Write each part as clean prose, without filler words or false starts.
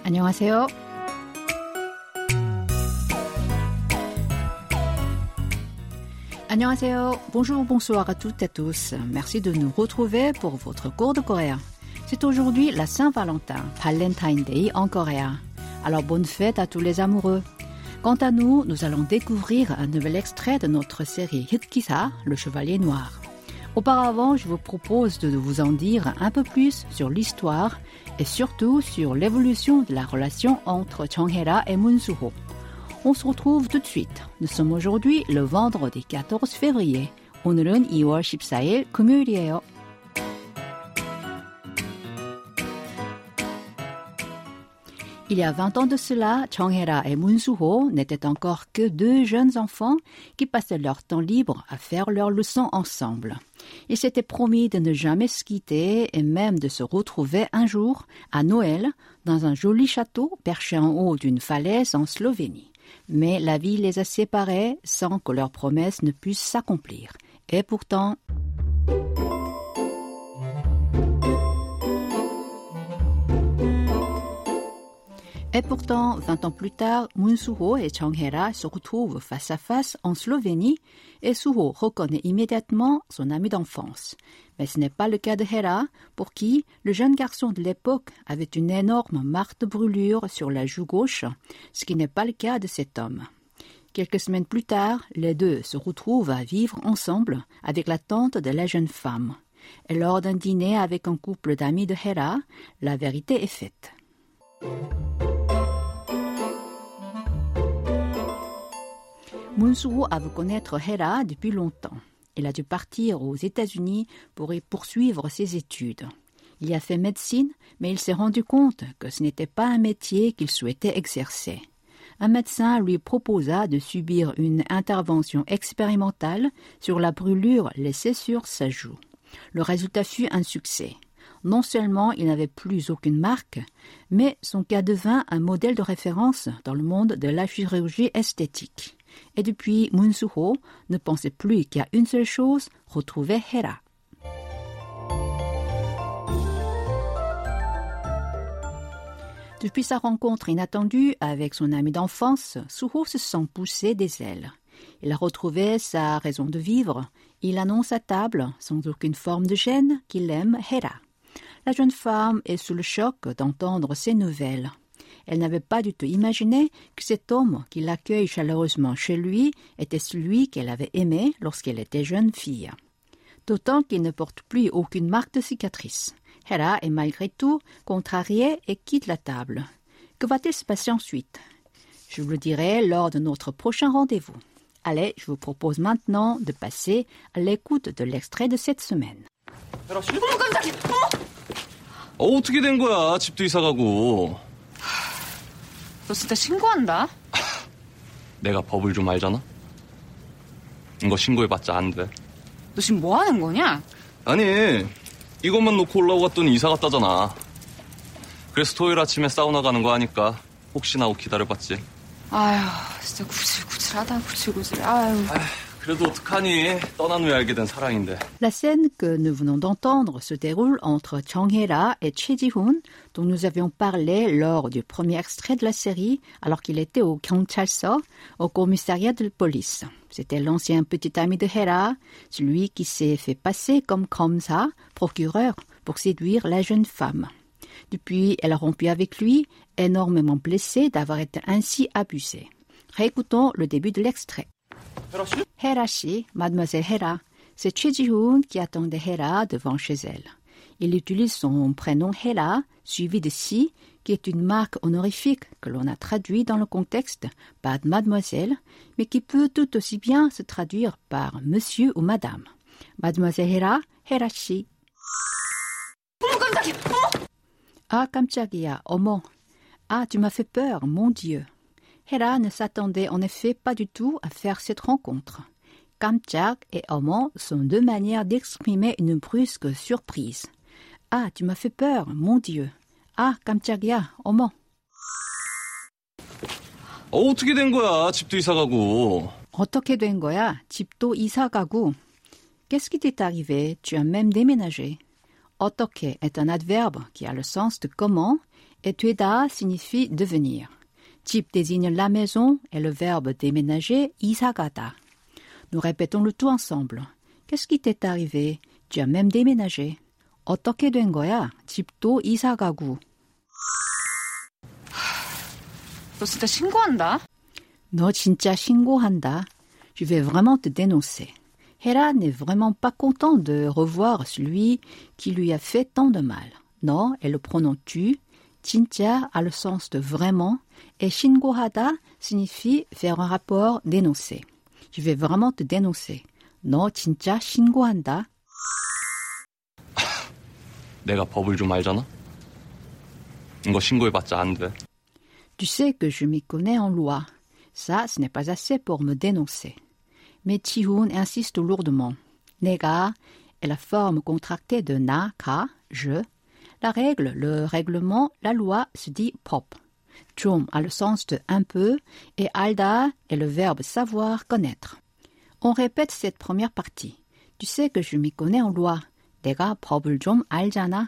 안녕하세요. 안녕하세요. Bonjour, bonsoir à toutes et à tous. Merci de nous retrouver pour votre cours de coréen. C'est aujourd'hui la Saint-Valentin, Valentine Day en coréen. Alors bonne fête à tous les amoureux. Quant à nous, nous allons découvrir un nouvel extrait de notre série Hitkisa, le Chevalier Noir. Auparavant, je vous propose de vous en dire un peu plus sur l'histoire et surtout sur l'évolution de la relation entre Jung-hae-ra et Moon-soo-ho. On se retrouve tout de suite. Nous sommes aujourd'hui le vendredi 14 février. 오늘은 2월 14일 금요일이에요. Il y a 20 ans de cela, Jung-hae-ra et Moon-soo-ho n'étaient encore que deux jeunes enfants qui passaient leur temps libre à faire leurs leçons ensemble. Ils s'étaient promis de ne jamais se quitter et même de se retrouver un jour, à Noël, dans un joli château perché en haut d'une falaise en Slovénie. Mais la vie les a séparés sans que leurs promesses ne puissent s'accomplir. Et pourtant... Et pourtant, 20 ans plus tard, Moon-soo-ho et Jung-hae-ra se retrouvent face à face en Slovénie et Soo-ho reconnaît immédiatement son ami d'enfance. Mais ce n'est pas le cas de Hae-ra, pour qui le jeune garçon de l'époque avait une énorme marque de brûlure sur la joue gauche, ce qui n'est pas le cas de cet homme. Quelques semaines plus tard, les deux se retrouvent à vivre ensemble avec la tante de la jeune femme. Et lors d'un dîner avec un couple d'amis de Hae-ra, la vérité est faite. Moon-soo-ho a voulu connaître Hae-ra depuis longtemps. Il a dû partir aux États-Unis pour y poursuivre ses études. Il y a fait médecine, mais il s'est rendu compte que ce n'était pas un métier qu'il souhaitait exercer. Un médecin lui proposa de subir une intervention expérimentale sur la brûlure laissée sur sa joue. Le résultat fut un succès. Non seulement il n'avait plus aucune marque, mais son cas devint un modèle de référence dans le monde de la chirurgie esthétique. Et depuis, Moon-soo-ho ne pensait plus qu'à une seule chose, retrouver Hae-ra. Depuis sa rencontre inattendue avec son ami d'enfance, Soo-ho se sent pousser des ailes. Il a retrouvé sa raison de vivre. Il annonce à table, sans aucune forme de gêne, qu'il aime Hae-ra. La jeune femme est sous le choc d'entendre ces nouvelles. Elle n'avait pas du tout imaginé que cet homme qui l'accueille chaleureusement chez lui était celui qu'elle avait aimé lorsqu'elle était jeune fille. D'autant qu'il ne porte plus aucune marque de cicatrice. Hae-ra est malgré tout contrariée et quitte la table. Que va-t-il se passer ensuite? Je vous le dirai lors de notre prochain rendez-vous. Allez, je vous propose maintenant de passer à l'écoute de l'extrait de cette semaine. 어머 깜짝이야. 어떻게 된 거야? 집도 이사 가고. 너 진짜 신고한다. 내가 법을 좀 알잖아. 이거 신고해봤자 안 돼. 너 지금 뭐 하는 거냐? 아니, 이것만 놓고 올라오고 갔더니 이사 갔다잖아. 그래서 토요일 아침에 사우나 가는 거 하니까 혹시나 하고 기다려봤지. 아휴, 진짜 구질구질하다, 구질구질. 아휴. 그래도 어떡하니? 떠난 후에 알게 된 사랑인데. La scène que nous venons d'entendre se déroule entre Jung-hae-ra et Choi Ji-hoon, dont nous avions parlé lors du premier extrait de la série, alors qu'il était au 경찰서, au commissariat de police. C'était l'ancien petit ami de Hae-ra, celui qui s'est fait passer comme 검사, procureur, pour séduire la jeune femme. Depuis, elle a rompu avec lui, énormément blessée d'avoir été ainsi abusée. Réécoutons le début de l'extrait. Hae-ra si, mademoiselle Hae-ra, c'est Choi Ji-hoon qui attendait Hae-ra devant chez elle. Il utilise son prénom Hae-ra, suivi de si, qui est une marque honorifique que l'on a traduit dans le contexte par mademoiselle, mais qui peut tout aussi bien se traduire par monsieur ou madame. Mademoiselle Hae-ra, Hae-ra si. 어머 깜짝이야. 어머. Ah, 깜짝이야, 어머. Ah, tu m'as fait peur, mon Dieu. Hae-ra ne s'attendait en effet pas du tout à faire cette rencontre. 깜짝 et 어머 sont deux manières d'exprimer une brusque surprise. Ah, tu m'as fait peur, mon Dieu. Ah, 깜짝이야, 어머. 어떻게 된 거야? 집도 이사 가고. 어떻게 된 거야? 집도 이사 가고. Qu'est-ce qui t'est arrivé? Tu as même déménagé. 어떻게 est un adverbe qui a le sens de comment et 되다 signifie devenir. 집 désigne la maison et le verbe déménager, 이사 가다. Nous répétons le tout ensemble. Qu'est-ce qui t'est arrivé? Tu as même déménagé. 어떻게 된 거야? 집도 이사 가고. 너 진짜 신고한다. 너 진짜 신고한다. Je vais vraiment te dénoncer. Hera n'est vraiment pas content de revoir celui qui lui a fait tant de mal. 너 est le pronom tu. 진짜 a le sens de vraiment. Et 신고하다 signifie faire un rapport, dénoncer. Je vais vraiment te dénoncer. 너 진짜 신고한다. 내가 법을 좀 알잖아? 이거 신고해봤자 안 돼. Tu sais que je m'y connais en loi. Ça, ce n'est pas assez pour me dénoncer. Mais Ji-hoon insiste lourdement. 내가 est la forme contractée de 나, 가, je. La règle, le règlement, la loi se dit 법. 좀 a le sens de un peu et 알다 est le verbe savoir, connaître. On répète cette première partie. Tu sais que je m'y connais en loi. 내가 법을 좀 알잖아.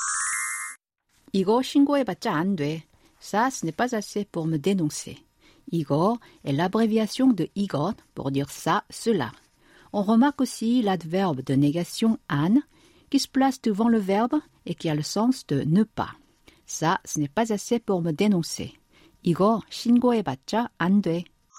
이거 신고해봤자 안 돼. Ça, ce n'est pas assez pour me dénoncer. 이거 est l'abréviation de 이것 pour dire ça, cela. On remarque aussi l'adverbe de négation 안 qui se place devant le verbe et qui a le sens de ne pas. Ça, ce n'est pas assez pour me dénoncer. 이거 신고해봤자 안 돼.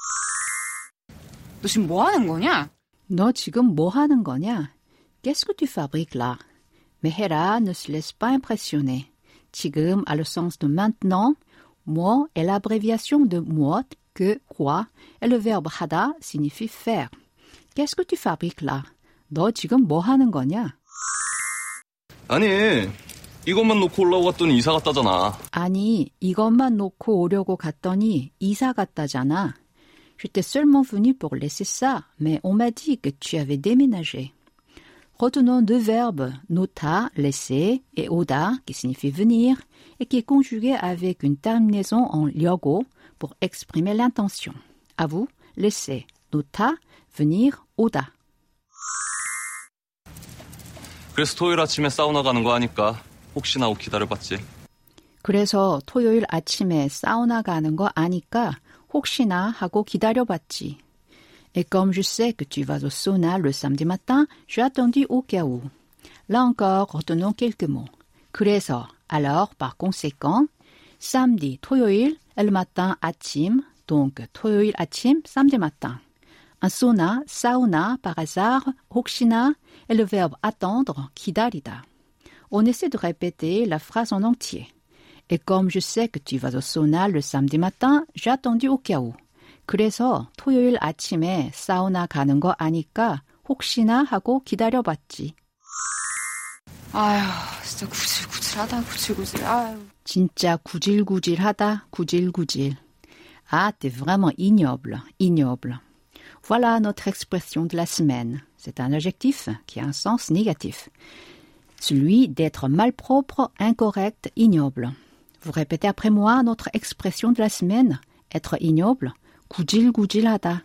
너 지금 뭐 하는 거냐? 너 지금 뭐 하는 거냐? Qu'est-ce que tu fabriques là? Mais Hera ne se laisse pas impressionner. 지금 a le sens de maintenant. 뭐 est l'abréviation de mu엇, que, quoi, et le verbe 하다 signifie faire. Qu'est-ce que tu fabriques là? 너 지금 뭐 하는 거냐? 아니, 이것만 놓고 올라오고 갔더니 이사 갔다잖아. 아니, 이것만 놓고 오려고 갔더니 이사 갔다잖아. J'étais seulement venu pour laisser ça, mais on m'a dit que tu avais déménagé. Retenons deux verbes, nota, laisser, et oda, qui signifie venir, et qui est conjugué avec une terminaison en 려고 pour exprimer l'intention. À vous, laisser, nota, venir, oda. 그래서 토요일 아침에 사우나 가는 거 아니까 혹시나 하고 기다려봤지. 그래서 토요일 아침에 사우나 가는 거 아니까 혹시나 하고 기다려봤지. Et comme je sais que tu vas au sauna le samedi matin, j'ai attendu au cas où. Là encore, retenons quelques mots. 그래서, alors, par conséquent, samedi, 토요일, et le matin, 아침, donc 토요일 아침, samedi matin. Un sauna, sauna, par hasard, 혹시나, et le verbe attendre, 기다리다. On essaie de répéter la phrase en entier. Et comme je sais que tu vas au sauna le samedi matin, j'ai attendu au cas où. 그래서 토요일 아침에 사우나 가는 거 아니까 혹시나 하고 기다려봤지. 아휴, 진짜 구질구질하다, 구질구질. 아휴. 진짜 구질구질하다, 구질구질. Ah, t'es vraiment ignoble, ignoble. Voilà notre expression de la semaine. C'est un adjectif qui a un sens négatif. Celui d'être malpropre, incorrect, ignoble. Vous répétez après moi notre expression de la semaine. Être ignoble, 구질구질하다.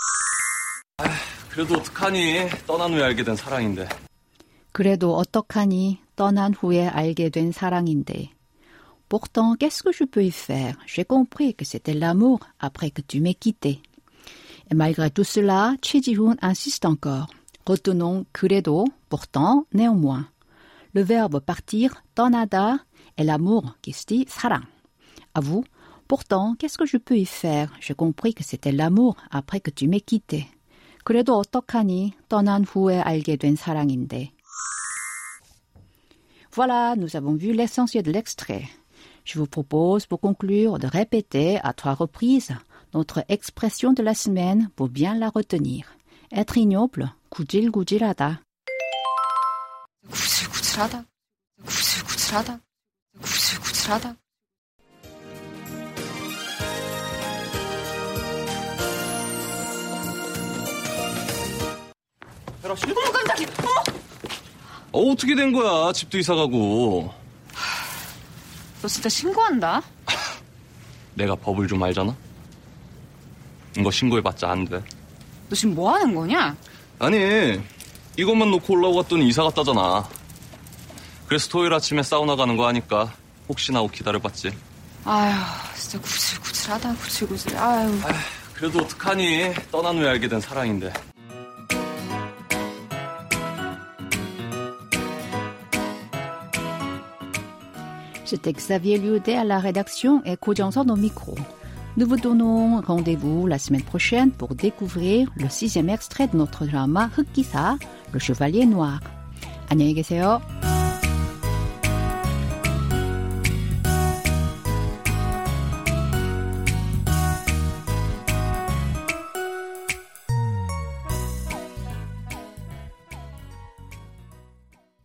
그래도 어떡하니? 떠난 후에 알게 된 사랑인데. 그래도 어떡하니? 떠난 후에 알게 된 사랑인데. Pourtant, qu'est-ce que je peux y faire? J'ai compris que c'était l'amour après que tu m'aies quitté. Et malgré tout cela, Choi Ji-hoon insiste encore. Retenons 그래도, pourtant, néanmoins. Le verbe partir, 떠나다, et l'amour qui se dit 사랑. À vous. Pourtant, qu'est-ce que je peux y faire? J'ai compris que c'était l'amour après que tu m'aies quitté. 그래도 어떡하니? 떠난 후에 알게 된 사랑인데. Voilà, nous avons vu l'essentiel de l'extrait. Je vous propose, pour conclure, de répéter à 3 reprises notre expression de la semaine pour bien la retenir. Être ignoble, 구질구질하다. 구질구질하다. 구질구질하다. 구질구질하다. 어머 깜짝이야. 어머. 어떻게 된 거야? 집도 이사 가고. 너 진짜 신고한다. 내가 법을 좀 알잖아? 이거 신고해봤자 안 돼. 너 지금 뭐 하는 거냐? 아니, 이것만 놓고 올라오고 갔더니 이사 갔다잖아. 그래서 토요일 아침에 사우나 가는 거 아니까 혹시나 오기 기다려봤지. 아휴, 진짜 구질구질하다, 구질구질. 아휴. 그래도 어떡하니. 떠난 후에 알게 된 사랑인데. C'était Xavier Liudet à la rédaction et Ko Jang-son au micro. Nous vous donnons rendez-vous la semaine prochaine pour découvrir le 6e extrait de notre drama 흑기사, le chevalier noir. 안녕히 계세요.